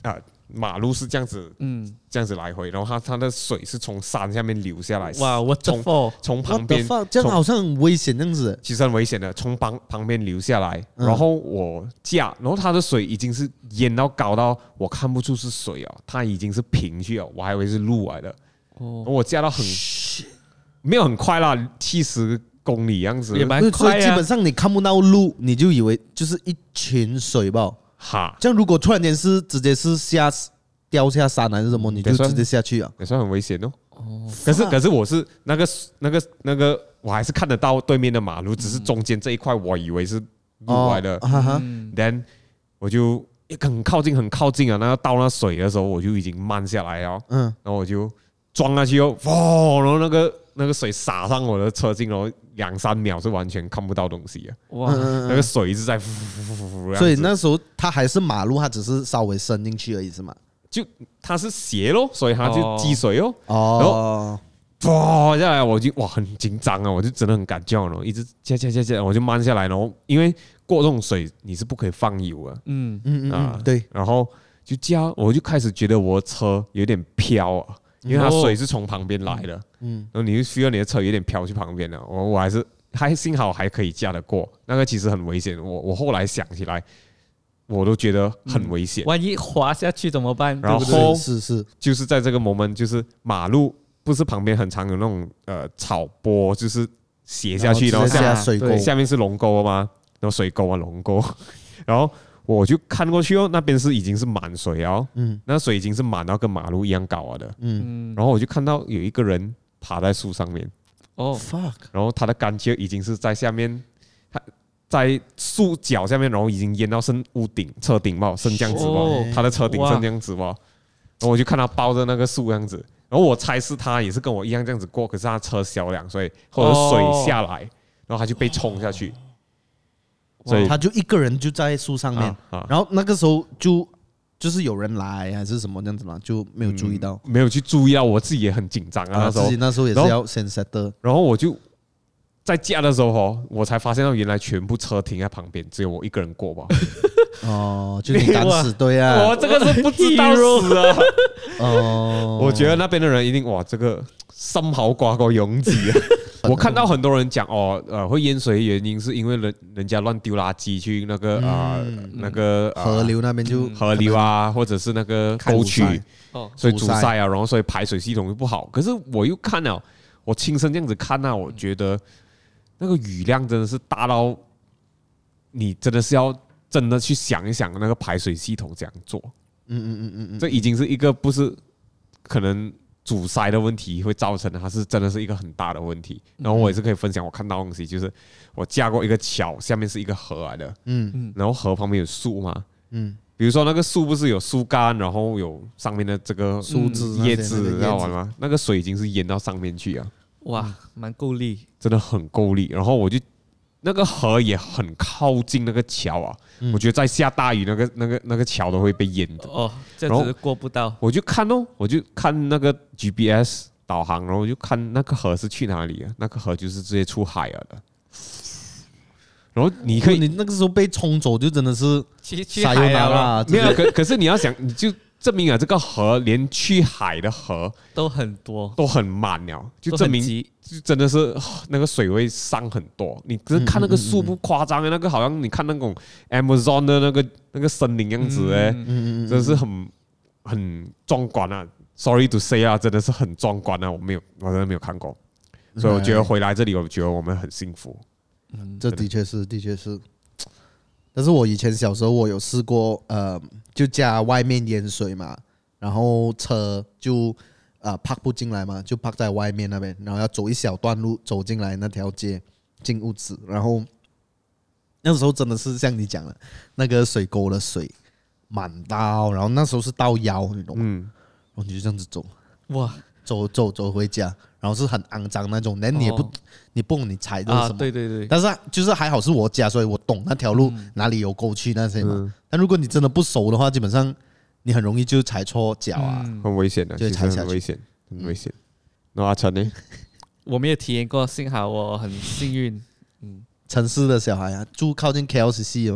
馬路是這樣子，這樣子來回，然後它的水是從山下面流下來， 哇，我從旁邊， 這樣好像很危險這樣子， 其實很危險的，從旁邊流下來，然後我架，然後它的水已經是淹到高到我看不出是水哦，它已經是平去了，我還以為是路來的，我架到很沒有很快啦，70公里樣子， 也蠻快啊， 基本上你看不到路，你就以為就是一群水吧。 哈， 這樣如果突然間是直接是掉下山還是什麼，你就直接下去啊， 也算很危險哦。可是我是那個，我還是看得到對面的馬路，只是中間這一塊我以為是路來的。Then 我就很靠近啊，那到那水的時候我就已經慢下來了。然後我就撞下去哦，然後那個水灑上我的車鏡，然後2-3秒是完全看不到東西啊！哇，那個水一直在所以那時候它還是馬路，它只是稍微伸進去而已，是嗎？ 就它是斜咯，所以它就積水哦。然後哇下來，我就很緊張啊，我就真的很敢叫了，一直加，我就慢下來，然後因為過這種水你是不可以放油啊，對，然後就加，我就開始覺得我的車有點飄啊。因為它水是從旁邊來的，然後你就需要你的車有點飄去旁邊了。我還幸好還可以駕得過，那個其實很危險。我後來想起來，我都覺得很危險。 萬一滑下去怎麼辦？ 然後是， 就是在這個 moment，就是馬路不是旁邊很常有那種草坡，就是斜下去，然後下面是龍溝嘛，然後水溝啊龍溝，然後。我就看過去哦，那邊已經是滿水哦，那水已經是滿到跟馬路一樣高了的，然後我就看到有一個人爬在樹上面， fuck， 然後他的干丘已經是在下面，他在樹腳下面，然後已經淹到剩屋頂、車頂嘛，剩這樣子嘛，他的車頂剩這樣子嘛，然後我就看他抱着那個樹這樣子，然後我猜是他也是跟我一樣這樣子過，可是他車小2歲，或者水下來，然後他就被沖下去。 所以他就一個人就在樹上面，然後那個時候就是有人來還是什麼這樣子嘛，就沒有注意到， 沒有去注意到，我自己也很緊張啊。 那時候也是要先 set 的， 然後我就在駕的時候我才發現到原來全部車停在旁邊，只有我一個人過吧。 就你敢死隊啊！ 我這個是不知道死啊。我覺得那邊的人一定這個心口掛個勇字啊。我看到很多人講會淹水的原因是因為人家亂丟垃圾去那個河流那邊，就河流啊，或者是那個溝渠，所以阻塞啊，然後所以排水系統就不好。可是我又看了，我親身這樣子看啊，我覺得那個雨量真的是大到你真的是要真的去想一想那個排水系統這樣做。這已經是一個不是可能阻塞的問題會造成的，它是真的是一個很大的問題。然後我也是可以分享我看到的東西，就是我駕過一個橋，下面是一個河來的，然後河旁邊有樹嘛，比如說那個樹不是有樹幹，然後有上面的這個樹枝葉子，知道嗎？那個水已經是淹到上面去啊， 哇，蠻夠力， 真的很夠力。然后我就那個河也很靠近那個橋啊，我覺得在下大雨，那個橋都會被淹的。 這樣子過不到。 我就看那個 GPS 導航，然後我就看那個河是去哪裡啊？那個河就是直接出海了的。然後你那個時候被沖走，就真的是去海了。 沒有，可是你要想，你就證明了這個河連去海的河都很多， 都很滿了，就證明就真的是那個水位上很多。你只是看那個樹不誇張的，那個好像你看那種 Amazon 的那個森林樣子真的是很壯觀啊。Sorry to say 啊，真的是很壯觀啊，我真的沒有看過，所以我覺得回來這裡，我覺得我們很幸福。 這的確是。但是我以前小時候我有試過，就家外面淹水嘛，然後車就park 不進來嘛，就 park 在外面那邊，然後要走一小段路走進來那條街進屋子，然後那時候真的是像你講的，那個水溝的水滿到，然後那時候是到腰，你懂嗎？然後你就這樣子走，哇，走回家，然後是很骯髒那種，你也不你蹦你踩的什麼？ 對。 但是就是還好是我家，所以我懂那條路哪裡有溝渠那些嘛。但如果你真的不熟的話，基本上你很容易就踩錯腳啊， 很危險的， 就踩下去， 很危險。那阿成呢？ 我沒有體驗過，幸好我很幸運。 城市的小孩啊，住靠近 KLCC 的嘛。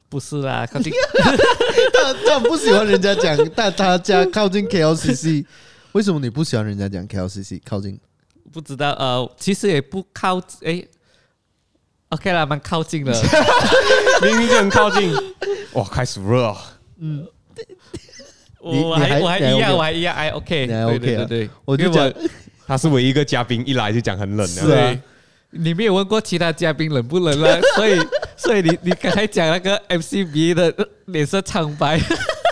不是啦，靠近他不喜歡人家講，但他家靠近 KLCC， 為什麼你不喜歡人家講 KLCC 靠近？ 不知道其實也不靠OK 啦，蠻靠近的， 明明就很靠近。哇，開始熱啊！ 我還一樣，還 OK， 對， 我就講他是唯一一個嘉賓，一來就講很冷的。 是啊， 你沒有問過其他嘉賓冷不冷啦，所以你剛才講那個 MCB 的臉色蒼白。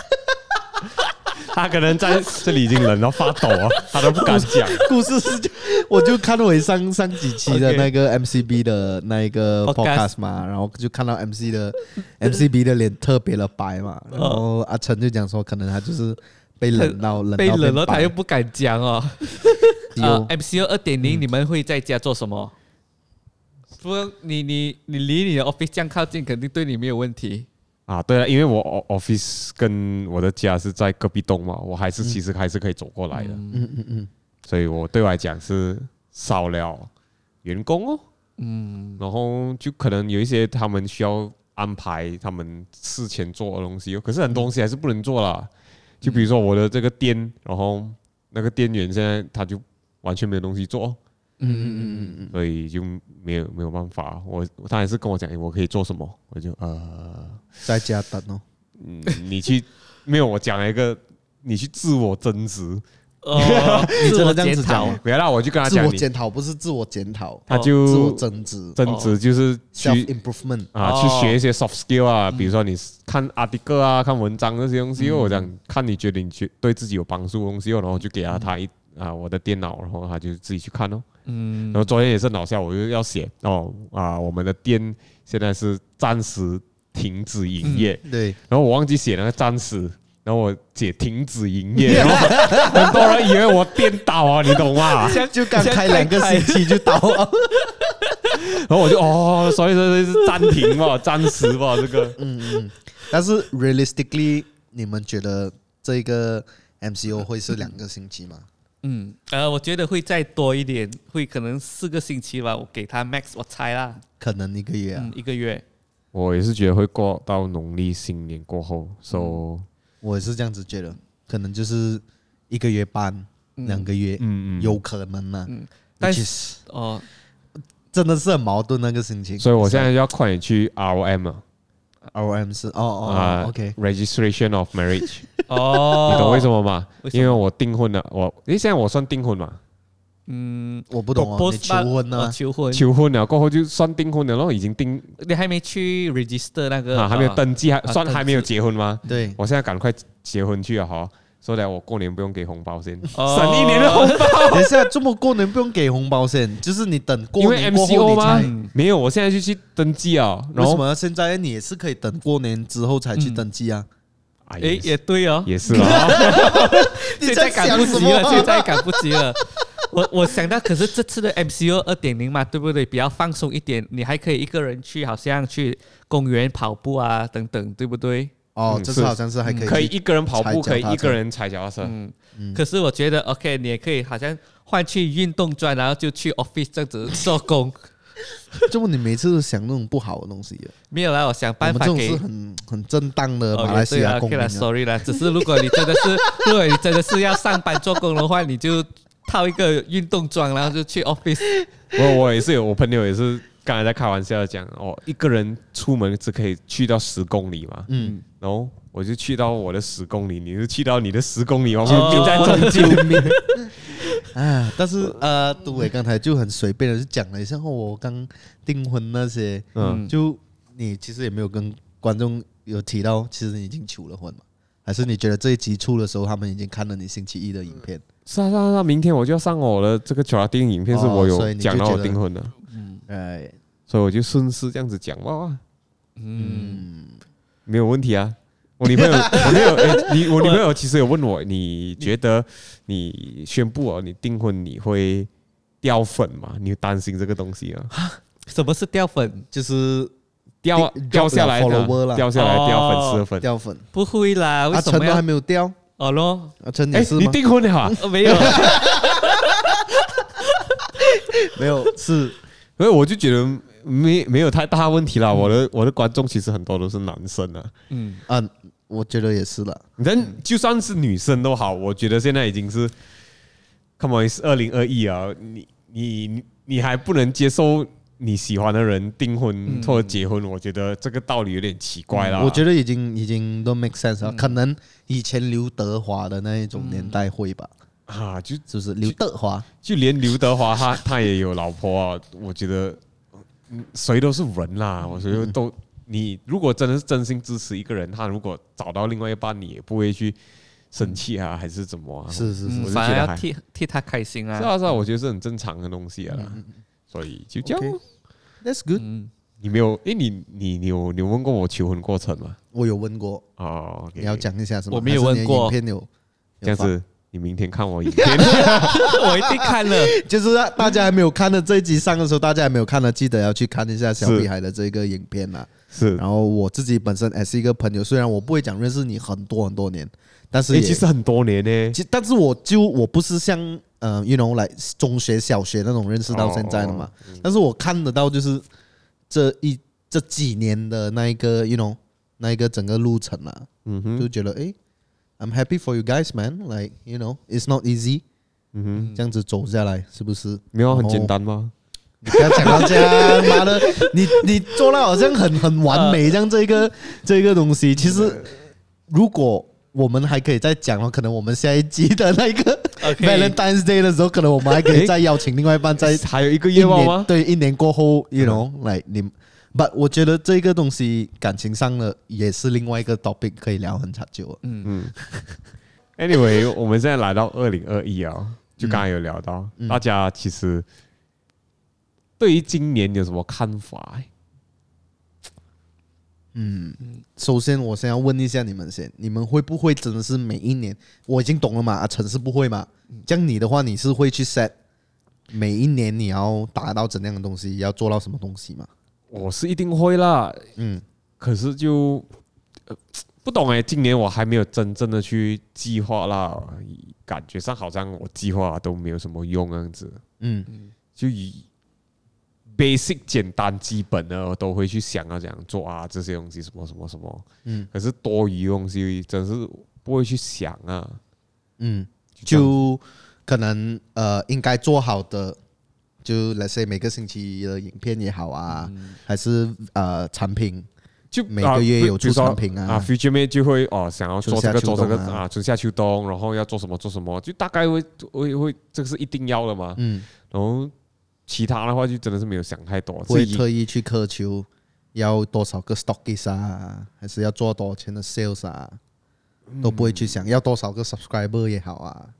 他可能在這裡已經冷到發抖啊，他都不敢講。 故事是，我就看回上幾期的那個 MCB 的那一個 podcast 嘛，然後就看到 MCB 的臉特別的白嘛，然後阿成就講說，可能他就是被冷到他又不敢講哦。MCO 2.0，你們會在家做什麼？不，你離你的 office 這樣靠近，肯定對你沒有問題。 啊，對了，因為我 office 跟我的家是在隔壁棟嘛，我其實還是可以走過來的。所以我對我來講是少了員工哦。然後就可能有一些他們需要安排他們事前做的東西，可是很多東西還是不能做啦。就比如說我的這個店，然後那個店員現在他就完全沒有東西做。所以就沒有辦法，他還是跟我講，我可以做什麼，我就在家等哦。 你去沒有我講了一個，你去自我增值。 你真的這樣子講？ 不要啦，我就跟他講， 自我檢討不是自我檢討， 他就自我增值。 增值就是去 self improvement 去學一些 soft skill 啊，比如說你看 article 啊，看文章這些東西，我講看你覺得對自己有幫助的東西，然後就給他我的電腦，然後他就自己去看哦。然後昨天也是很搞笑，我就要寫我們的店現在是暫時停止營業。對。然後我忘記寫那個暫時，然後我寫停止營業，然後很多人以為我店倒啊，你懂嗎？ 就剛開2個星期就倒了。 然後我就所以說是暫停吧，暫時吧，這個。 但是 realistically， 你們覺得這個 MCO 會是2個星期嗎？ 我覺得會再多一點，會可能4個星期吧。我給他 max， 我猜啦， 可能1個月啊 ，1個月。我也是覺得會過到農曆新年過後， 我也是這樣子覺得，可能就是1個月半、2個月，有可能呢。但是真的是很矛盾那個心情。 所以我現在就要快點去 ROM 了。 ROM 是OK Registration of Marriage。你懂為什麼嗎？因為我訂婚了，現在我算訂婚嘛？ 我不懂哦。你求婚了過後就算訂婚了，然後已經訂。 你還沒去 register 那個？ 還沒有登記，算還沒有結婚嗎？ 對， 我現在趕快結婚去了哈，所以我過年不用給紅包先，省1年的紅包。 等一下，這麼過年不用給紅包先，就是你等過年過後因為 MCO 嗎？沒有，我現在就去登記啊。 為什麼現在你也是可以等過年之後才去登記啊？ 也對哦， 也是啊。 現在趕不及了。我想到，可是這次的 MCO 2.0嘛，對不對？比較放鬆一點，你還可以一個人去，好像去公園跑步啊等等，對不對？ 這次好像是還可以一個人跑步，可以一個人踩腳踏車。 可是我覺得 OK， 你也可以好像換去運動裝，然後就去 office 這樣子做工。 就你每次都想那種不好的東西？ 沒有啦，我想辦法給。 我们這種是很正當的馬來西亞公民。 Sorry 啦，只是如果你真的是要上班做工的話，你就套一個運動裝，然後就去 office。 我也是有，我朋友也是剛才在開玩笑講，一個人出門只可以去到10公里嘛。然後我就去到我的10公里，你就去到你的10公里，我們並在中間。 但是杜偉剛才就很隨便的就講了一下，我剛訂婚那些，就你其實也沒有跟觀眾有提到，其實你已經求了婚嘛？還是你覺得這一集出的時候，他們已經看了你星期一的影片？ 是啊，明天我就要上我的這個電影影片，是我有講到我訂婚的，所以我就順勢這樣子講哇，沒有問題啊。我女朋友其實有問我，你覺得你宣布你訂婚你會掉粉嗎？你擔心這個東西啊？ 什麼是掉粉？ 就是掉下來的，掉下來掉粉絲的粉， 掉粉不會啦。 阿成都還沒有掉咯？ 阿成也是嗎？ 你訂婚了啊？ 沒有， 沒有是。 所以我就覺得沒有太大問題啦。我的觀眾其實很多都是男生啊。 我覺得也是了。 但就算是女生都好，我覺得現在已經是 ，come on， 是2021啊，你還不能接受你喜歡的人訂婚或者結婚，我覺得這個道理有點奇怪啦。 我覺得已經都 make sense 了，可能以前劉德華的那一種年代會吧。就是劉德華， 就連劉德華他也有老婆啊。我覺得誰都是人啦，我覺得都。你如果真的是真心支持一個人，他如果找到另外一半，你也不會去生氣啊，還是怎麼啊？ 是， 反而要替他開心啊。 是啊，我覺得是很正常的東西啊。所以就這樣。 That's good。 你沒有？你有問過我求婚過程嗎？ 我有問過。 哦， 你要講一下是嗎？ 我沒有問過。 影片有這樣子。你明天看我影片， 我一定看了。 就是大家還沒有看的這一集上的時候，大家還沒有看的，記得要去看一下小屁孩的這個影片啦。 是， 然後我自己本身也是一個朋友，雖然我不會講認識你很多年，但是其實很多年呢。 但是我不是像you know 來中學、小學那種認識到現在的嘛。但是我看得到就是這幾年的那一個 you know 那一個整個路程啊，就覺得I'm happy for you guys, man. Like, you know, it's not easy. 這樣子走下來，是不是？ 沒有很簡單嗎？ 你不要講到這樣，媽的，你做到好像很完美這樣這個東西。其實，如果我們還可以再講的話，可能我們下一集的那個 Valentine's Day 的時候，可能我們還可以再邀請另外一半，再還有一個願望嗎？ 對，1年過後，you know, like but 我覺得這個東西感情上的也是另外一個 topic 可以聊很長久。 Anyway， 我們現在來到2021啊，就剛才有聊到，大家其實對於今年有什麼看法？ 首先我先要問一下你們先，你們會不會真的是每一年？我已經懂了嘛，陳是不會嘛？這樣你的話，你是會去 set 每一年你要達到怎樣的東西，要做到什麼東西嗎？ 我是一定會啦，可是就不懂今年我還沒有真正的去計劃啦，感覺上好像我計劃都沒有什麼用這樣子，就以 basic 簡單基本的我都會去想要怎樣做啊，這些東西什麼什麼什麼，可是多餘的東西真是不會去想啊， 就可能應該做好的。就 let's say 每個星期的影片也好啊，還是產品，就每個月有出產品啊。Future Mate 就會想要做這個做這個啊，春夏秋冬，然後要做什麼做什麼，就大概會這個是一定要的嘛。然後其他的話就真的是沒有想太多， 不會特意去苛求要多少個 stockist 啊，還是要做多少錢的 sales 啊，都不會去想要多少個 subscriber 也好啊。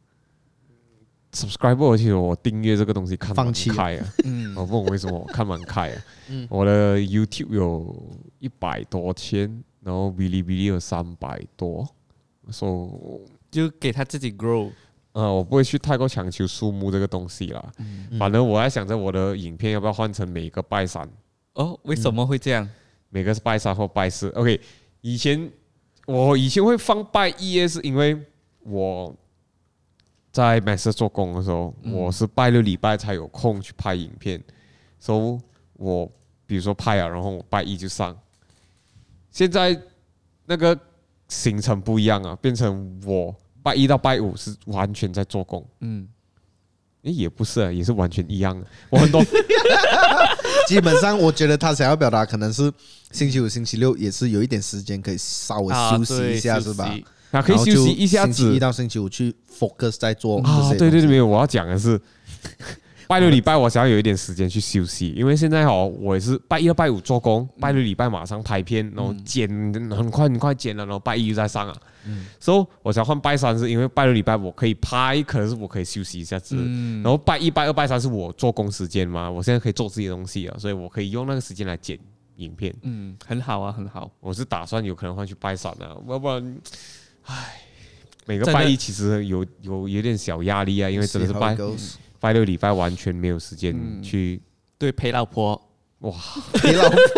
subscriber 其實我訂閱這個東西看蠻開啊，我不懂為什麼我看蠻開啊。我的 YouTube 有100多千，然後嗶哩嗶哩有300多， 就給他自己 grow。 我不會去太過強求數目這個東西啦。反正我在想着我的影片要不要換成每個拜三。 為什麼會這樣？ 每個是拜三或拜四。OK， 我以前會放拜一，是因為我在 Master 做工的時候，我是拜6禮拜才有空去拍影片，所以我比如說拍了，然後我拜一就上。現在那個行程不一樣啊，變成我拜一到拜五是完全在做工。也不是啊，也是完全一樣的。我很多基本上，我覺得他想要表達可能是星期五、星期六也是有一點時間可以稍微休息一下，是吧？ 可以休息一下子。 星期一到星期五去 focus 在做對，沒有，我要講的是，拜6禮拜我想要有一點時間去休息，因為現在我也是拜一到拜五做工，拜6禮拜馬上拍片，然後剪很快剪了，然後拜一就再上啊。所以我想換拜三，是因為拜6禮拜我可以拍，可是我可以休息一下子。然後拜一、拜二、拜三是我做工時間嘛，我現在可以做自己的東西啊，所以我可以用那個時間來剪影片。 很好啊，很好。 我是打算有可能換去拜三啊，要不然。每個拜一其實有點小壓力啊，因為真的是拜6禮拜完全沒有時間去陪老婆。 哇，陪老婆，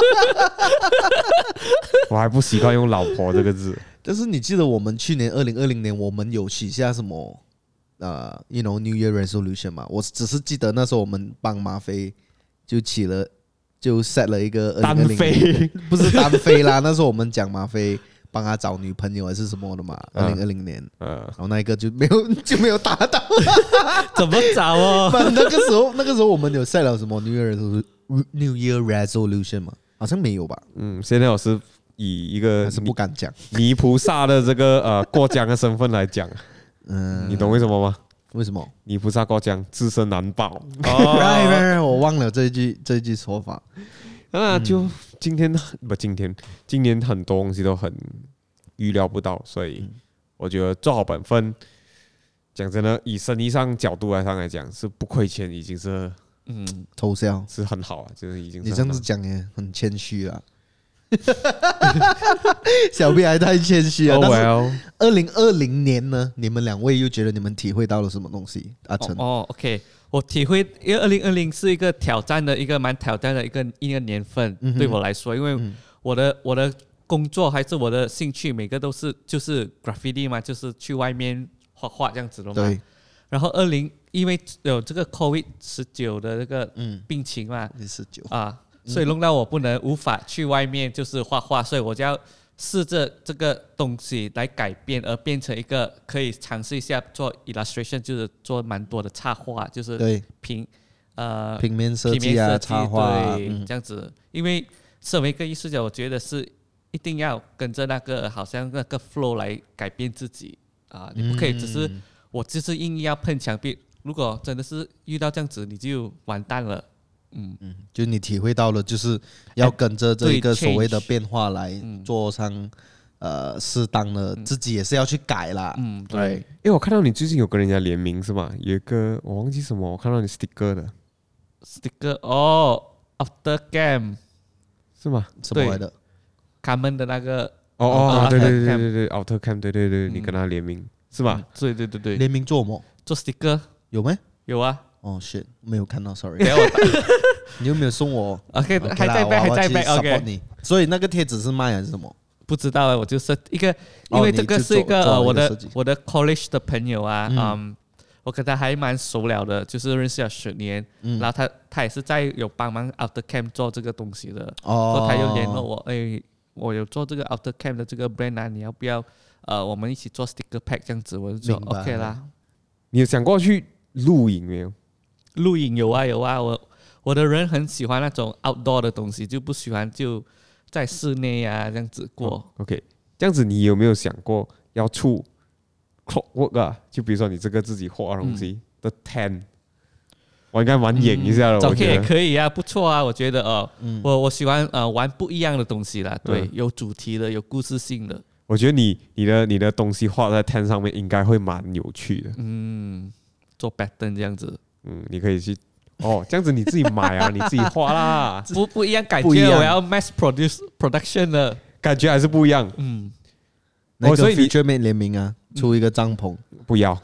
我還不習慣用老婆這個字。 但是你記得我們去年2020年我們有許下什麼you know New Year Resolution 嗎？我只是記得那時候我們幫馬飛就就 set 了一個單飛， 不是單飛啦，那時候我們講馬飛幫他找女朋友還是什麼的嘛，2020年，然後那一個就沒有達到， 怎麼找哦？ 那個時候我們有 set 了什麼 New Year Resolution 嘛？好像沒有吧？ 現在我是以一個還是不敢講泥菩薩的這個過江的身份來講，你懂為什麼嗎？ 為什麼？ 泥菩薩過江，自身難保。 right，我忘了这一句說法。 就今年很多東西都很預料不到，所以我覺得做好本分，講真的，以生意上角度來講是不虧錢，已經是偷笑是很好啊，就是已經是你這樣子講也很謙虛啊。小 B 還太謙虛了。但是2020年呢，你們兩位又覺得你們體會到了什麼東西？阿成 ，OK， 我體會，因為2020是一個挑戰的一個蠻挑戰的一個年份，對我來說，因為我的工作還是我的興趣，每個都是就是 graffiti 嘛，就是去外面畫畫這樣子的嘛。 對。 然後因為有這個 COVID-19 的這個病情嘛，19啊。所以弄到我無法去外面就是畫畫，所以我就要試着这个東西來改變，而變成一個可以嘗試一下做 illustration， 就是做蠻多的插畫，就是平面設計啊，插畫對，這樣子。因為身為一個藝術家，我覺得是一定要跟着那個好像那個 flow 來改變自己啊，你不可以只是我就是硬要碰牆壁，如果真的是遇到這樣子，你就完蛋了。 就你體會到了，就是要跟着這個所謂的變化來做上適當的，自己也是要去改啦。對。 我看到你最近有跟人家聯名是嗎？有一個我忘記什麼，我看到你 sticker 的 sticker 哦 ，After Camp 是嗎？ 什麼來的？ 他們的那個對 After Camp 對，你跟他聯名是嗎？ 對， 聯名做什麼？ 做 sticker 有沒？ 有啊。 哦，shit，沒有看到 ，sorry。你有沒有送我 ？OK， 還在 back，OK。 你，所以那個貼紙是賣還是什麼？ 不知道啊，我就是一個，因為這個是一個我的 college 的朋友啊，我跟他還蠻熟了的，就是認識了10年，然後他也是在有幫忙 After Camp 做這個東西的，所以他又聯絡我，我有做這個 After Camp 的這個 brand 啊，你要不要我們一起做 sticker pack 這樣子？我就說 OK 啦。 你有想過去露營沒有？ 露營有啊，我的人很喜歡那種 outdoor 的東西，就不喜歡就在室內啊這樣子過。 OK， 這樣子你有沒有想過要出 clockwork 啊？就比如說你這個自己畫的東西的 tent，我應該蠻演一下的。 早 K 也可以啊，不錯啊，我覺得我喜歡玩不一樣的東西啦，對，有主題的，有故事性的。 我覺得你的東西畫在 tent 上面應該會蠻有趣的。 做 pattern 這樣子。 你可以去這樣子你自己買啊，你自己畫啦， 不一樣感覺，我要 mass production 的感覺還是不一樣。 所以你 feature mate 聯名啊，出一個帳篷， 不要，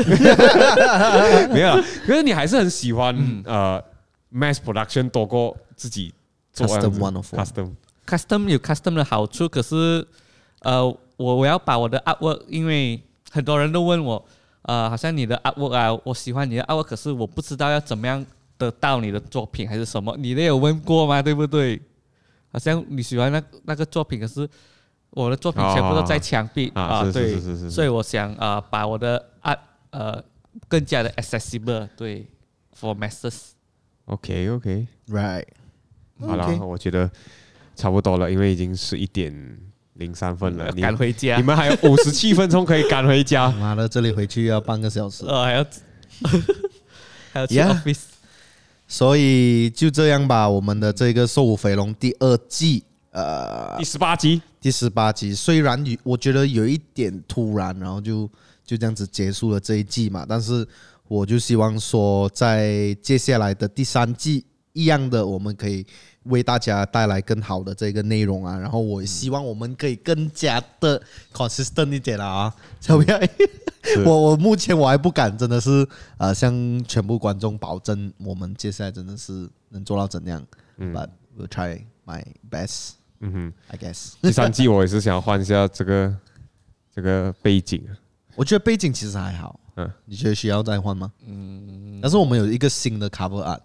沒有啦，可是你還是很喜歡mass production 多過自己做 custom 有 custom 的好處，可是我要把我的 artwork， 因為很多人都問我。好像你的 artwork 啊，我喜歡你的 artwork， 可是我不知道要怎麼樣得到你的作品還是什麼，你都有問過嗎？對不對？好像你喜歡那個作品，可是我的作品全部都在牆壁對，所以我想把我的 art 更加的 accessible， 對 ，for masses。OK，right， 好了，我覺得差不多了，因為已經11:03分了， 趕回家。 你們還有57分鐘可以趕回家。 媽的，這裡回去要半個小時。 還要去 office。 所以就這樣吧，我們的這個《瘦虎肥龍》第2季，第18集，雖然我覺得有一點突然，然後就這樣子結束了這一季嘛，但是我就希望說，在接下來的第3季一樣的，我們可以為大家帶來更好的這個內容啊，然後我希望我們可以更加的 consistent 一點啊，小不要？我目前我還不敢，真的是向全部觀眾保證，我們接下來真的是能做到怎樣？But we'll try my best. I guess. 第3季我也是想要換一下這個背景， 我覺得背景其實還好。你覺得需要再換嗎？但是我們有一個新的 cover art。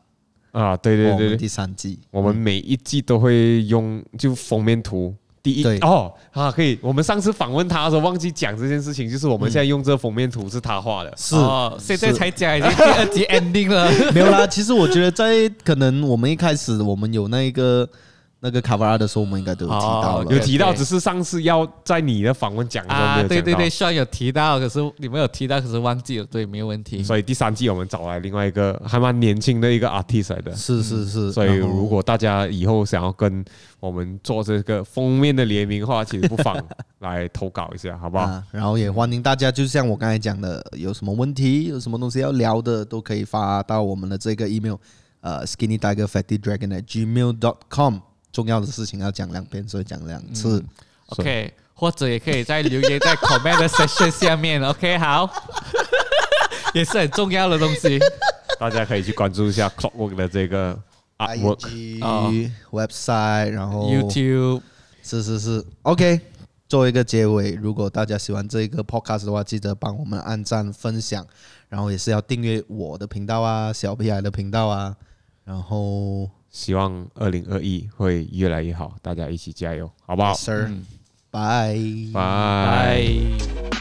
啊，對對對， 第3季， 我們每一季都會用就封面圖。可以。我們上次訪問他的時候忘記講這件事情，就是我們現在用這個封面圖是他畫的。 是， 現在才講，已經第2集 ending 了。 沒有啦，其實我覺得在可能我們一開始我們有那個 cover art 的時候，我們應該都有提到了， 有提到，只是上次要在你的訪問講的時候沒有講到。 對，Sean 有提到，可是你們有提到，可是忘記了，对，沒有問題。 所以第3季我們找來另外一個還蠻年輕的一個 artist 來的， 是。 所以如果大家以後想要跟我們做這個封面的聯名的話，其實不妨來投稿一下，好不好？ 然後也歡迎大家，就像我剛才講的，有什麼問題，有什麼東西要聊的，都可以發到我們的這個 email， skinnytigerfattydragon@gmail.com。重要的事情要講2遍，所以講2次。 OK， 或者也可以在留言在 comment 的 section 下面。OK， 好，也是很重要的東西。 大家可以去關注一下 Clockwork 的這個 artwork website， 然後 YouTube。 是。OK， 做一個結尾，如果大家喜歡這個 podcast 的話，記得幫我們按讚、分享，然後也是要訂閱我的頻道啊，小屁孩的頻道啊，然後。 希望2021會越來越好，大家一起加油，好不好？ Yes, sir. Bye. Bye.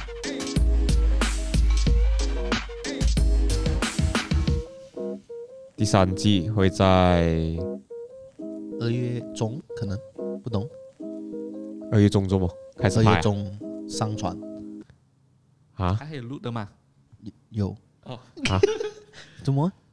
第3季會在 2月中，可能不懂。 2月中做嗎？開始拍。 2月中上傳。 還有錄的嗎？ 有。 哦。 怎麼？